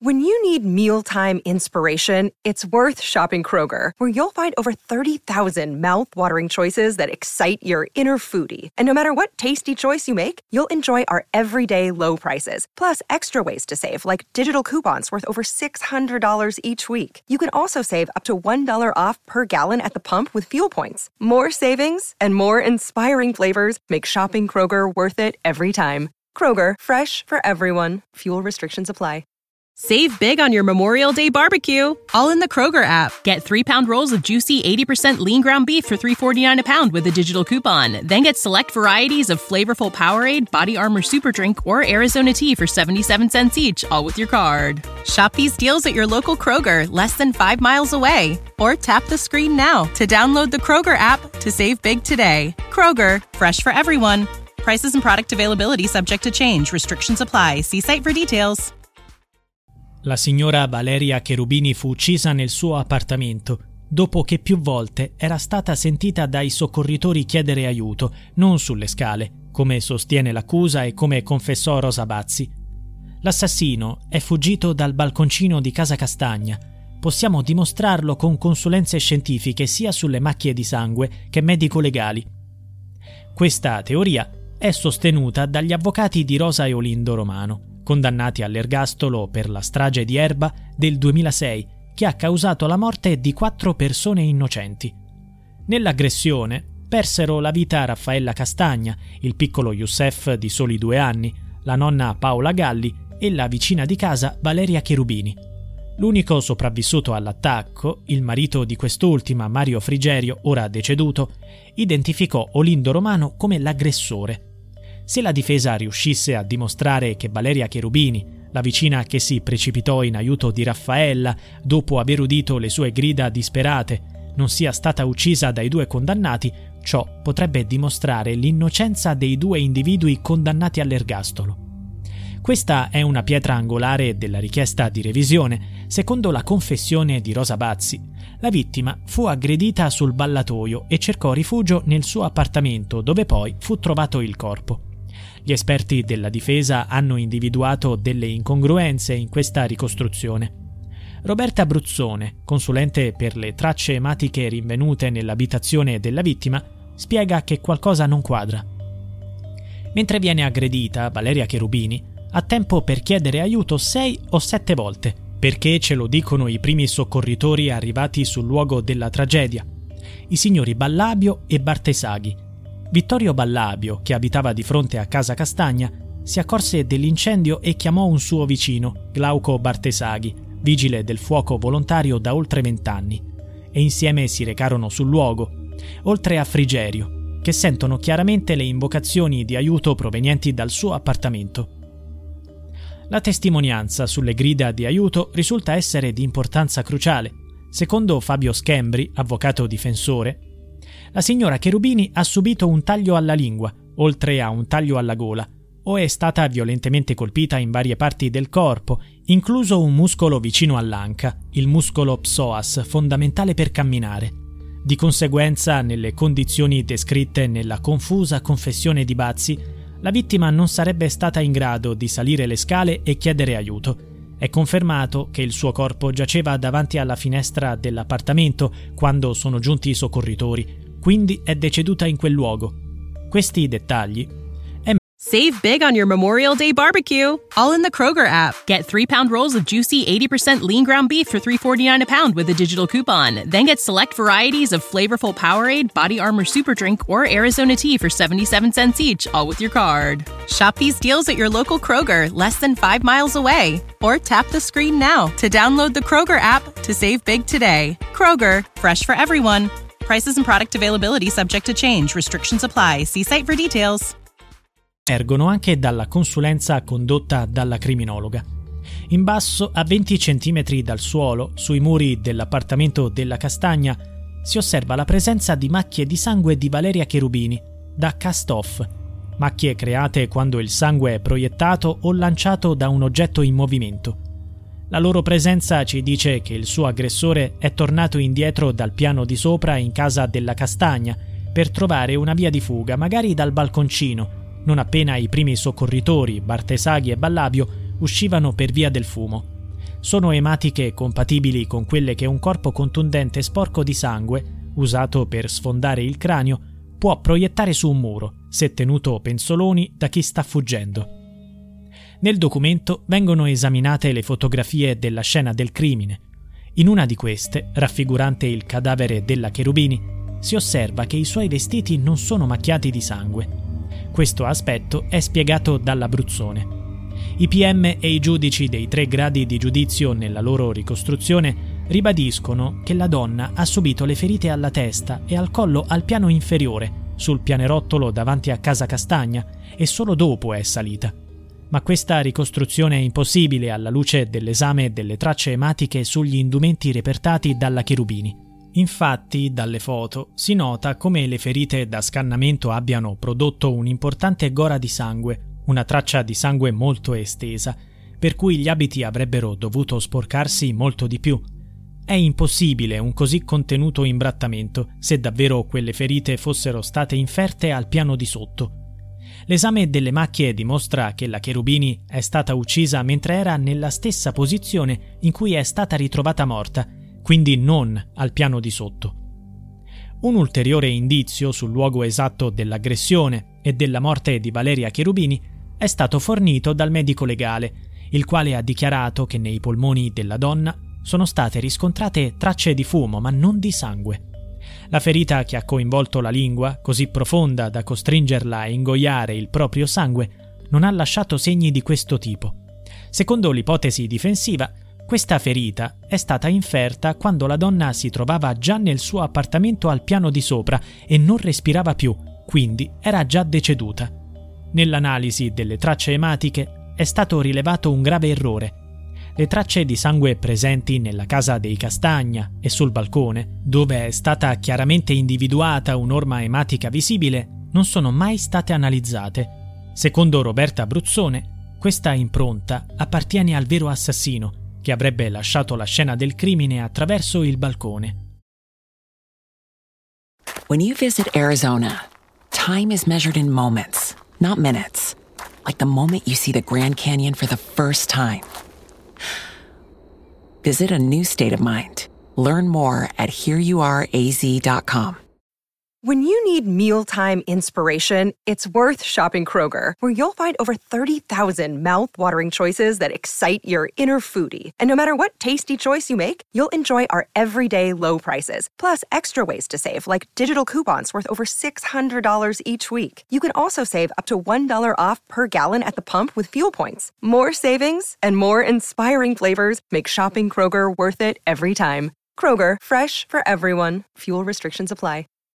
When you need mealtime inspiration, it's worth shopping Kroger, where you'll find over 30,000 mouth-watering choices that excite your inner foodie. And no matter what tasty choice you make, you'll enjoy our everyday low prices, plus extra ways to save, like digital coupons worth over $600 each week. You can also save up to $1 off per gallon at the pump with fuel points. More savings and more inspiring flavors make shopping Kroger worth it every time. Kroger, fresh for everyone. Fuel restrictions apply. Save big on your Memorial Day barbecue, all in the Kroger app. Get 3-pound rolls of juicy 80% lean ground beef for $3.49 a pound with a digital coupon. Then get select varieties of flavorful Powerade, Body Armor Super Drink, or Arizona tea for 77 cents each, all with your card. Shop these deals at your local Kroger, less than 5 miles away. Or tap the screen now to download the Kroger app to save big today. Kroger, fresh for everyone. Prices and product availability subject to change. Restrictions apply. See site for details. La signora Valeria Cherubini fu uccisa nel suo appartamento, dopo che più volte era stata sentita dai soccorritori chiedere aiuto, non sulle scale, come sostiene l'accusa e come confessò Rosa Bazzi. L'assassino è fuggito dal balconcino di Casa Castagna. Possiamo dimostrarlo con consulenze scientifiche sia sulle macchie di sangue che medico-legali. Questa teoria è sostenuta dagli avvocati di Rosa e Olindo Romano, condannati all'ergastolo per la strage di Erba del 2006, che ha causato la morte di 4 persone innocenti. Nell'aggressione persero la vita Raffaella Castagna, il piccolo Youssef di soli 2 anni, la nonna Paola Galli e la vicina di casa Valeria Cherubini. L'unico sopravvissuto all'attacco, il marito di quest'ultima, Mario Frigerio, ora deceduto, identificò Olindo Romano come l'aggressore. Se la difesa riuscisse a dimostrare che Valeria Cherubini, la vicina che si precipitò in aiuto di Raffaella dopo aver udito le sue grida disperate, non sia stata uccisa dai 2 condannati, ciò potrebbe dimostrare l'innocenza dei 2 individui condannati all'ergastolo. Questa è una pietra angolare della richiesta di revisione. Secondo la confessione di Rosa Bazzi, la vittima fu aggredita sul ballatoio e cercò rifugio nel suo appartamento, dove poi fu trovato il corpo. Gli esperti della difesa hanno individuato delle incongruenze in questa ricostruzione. Roberta Bruzzone, consulente per le tracce ematiche rinvenute nell'abitazione della vittima, spiega che qualcosa non quadra. Mentre viene aggredita, Valeria Cherubini ha tempo per chiedere aiuto 6 o 7 volte, perché ce lo dicono i primi soccorritori arrivati sul luogo della tragedia, i signori Ballabio e Bartesaghi. Vittorio Ballabio, che abitava di fronte a Casa Castagna, si accorse dell'incendio e chiamò un suo vicino, Glauco Bartesaghi, vigile del fuoco volontario da oltre 20 anni, e insieme si recarono sul luogo, oltre a Frigerio, che sentono chiaramente le invocazioni di aiuto provenienti dal suo appartamento. La testimonianza sulle grida di aiuto risulta essere di importanza cruciale. Secondo Fabio Schembri, avvocato difensore, la signora Cherubini ha subito un taglio alla lingua, oltre a un taglio alla gola, o è stata violentemente colpita in varie parti del corpo, incluso un muscolo vicino all'anca, il muscolo psoas, fondamentale per camminare. Di conseguenza, nelle condizioni descritte nella confusa confessione di Bazzi, la vittima non sarebbe stata in grado di salire le scale e chiedere aiuto. È confermato che il suo corpo giaceva davanti alla finestra dell'appartamento quando sono giunti i soccorritori, quindi è deceduta in quel luogo. Questi dettagli Save big on your Memorial Day barbecue, all in the Kroger app. Get 3-pound rolls of juicy 80% lean ground beef for $3.49 a pound with a digital coupon. Then get select varieties of flavorful Powerade, Body Armor Super Drink, or Arizona tea for 77 cents each, all with your card. Shop these deals at your local Kroger, less than 5 miles away. Or tap the screen now to download the Kroger app to save big today. Kroger, fresh for everyone. Prices and product availability subject to change. Restrictions apply. See site for details. Ergono anche dalla consulenza condotta dalla criminologa. In basso, a 20 cm dal suolo, sui muri dell'appartamento della Castagna, si osserva la presenza di macchie di sangue di Valeria Cherubini, da cast-off, macchie create quando il sangue è proiettato o lanciato da un oggetto in movimento. La loro presenza ci dice che il suo aggressore è tornato indietro dal piano di sopra in casa della Castagna per trovare una via di fuga, magari dal balconcino, non appena i primi soccorritori, Bartesaghi e Ballabio, uscivano per via del fumo. sono ematiche compatibili con quelle che un corpo contundente sporco di sangue, usato per sfondare il cranio, può proiettare su un muro, se tenuto penzoloni da chi sta fuggendo. Nel documento vengono esaminate le fotografie della scena del crimine. In una di queste, raffigurante il cadavere della Cherubini, si osserva che i suoi vestiti non sono macchiati di sangue. Questo aspetto è spiegato dall'Abruzzone. I PM e i giudici dei 3 gradi di giudizio nella loro ricostruzione ribadiscono che la donna ha subito le ferite alla testa e al collo al piano inferiore, sul pianerottolo davanti a Casa Castagna, e solo dopo è salita. Ma questa ricostruzione è impossibile alla luce dell'esame delle tracce ematiche sugli indumenti repertati dalla Cherubini. Infatti, dalle foto si nota come le ferite da scannamento abbiano prodotto un'importante gora di sangue, una traccia di sangue molto estesa, per cui gli abiti avrebbero dovuto sporcarsi molto di più. È impossibile un così contenuto imbrattamento se davvero quelle ferite fossero state inferte al piano di sotto. L'esame delle macchie dimostra che la Cherubini è stata uccisa mentre era nella stessa posizione in cui è stata ritrovata morta, quindi non al piano di sotto. Un ulteriore indizio sul luogo esatto dell'aggressione e della morte di Valeria Cherubini è stato fornito dal medico legale, il quale ha dichiarato che nei polmoni della donna sono state riscontrate tracce di fumo, ma non di sangue. La ferita che ha coinvolto la lingua, così profonda da costringerla a ingoiare il proprio sangue, non ha lasciato segni di questo tipo. Secondo l'ipotesi difensiva, questa ferita è stata inferta quando la donna si trovava già nel suo appartamento al piano di sopra e non respirava più, quindi era già deceduta. Nell'analisi delle tracce ematiche è stato rilevato un grave errore. Le tracce di sangue presenti nella casa dei Castagna e sul balcone, dove è stata chiaramente individuata un'orma ematica visibile, non sono mai state analizzate. Secondo Roberta Abruzzone, questa impronta appartiene al vero assassino, che avrebbe lasciato la scena del crimine attraverso il balcone. When you visit Arizona, time is measured in moments, not minutes. Like the moment you see the Grand Canyon for the first time. Visit a new state of mind. Learn more at hereyouareaz.com. When you need mealtime inspiration, it's worth shopping Kroger, where you'll find over 30,000 mouth-watering choices that excite your inner foodie. And no matter what tasty choice you make, you'll enjoy our everyday low prices, plus extra ways to save, like digital coupons worth over $600 each week. You can also save up to $1 off per gallon at the pump with fuel points. More savings and more inspiring flavors make shopping Kroger worth it every time. Kroger, fresh for everyone. Fuel restrictions apply.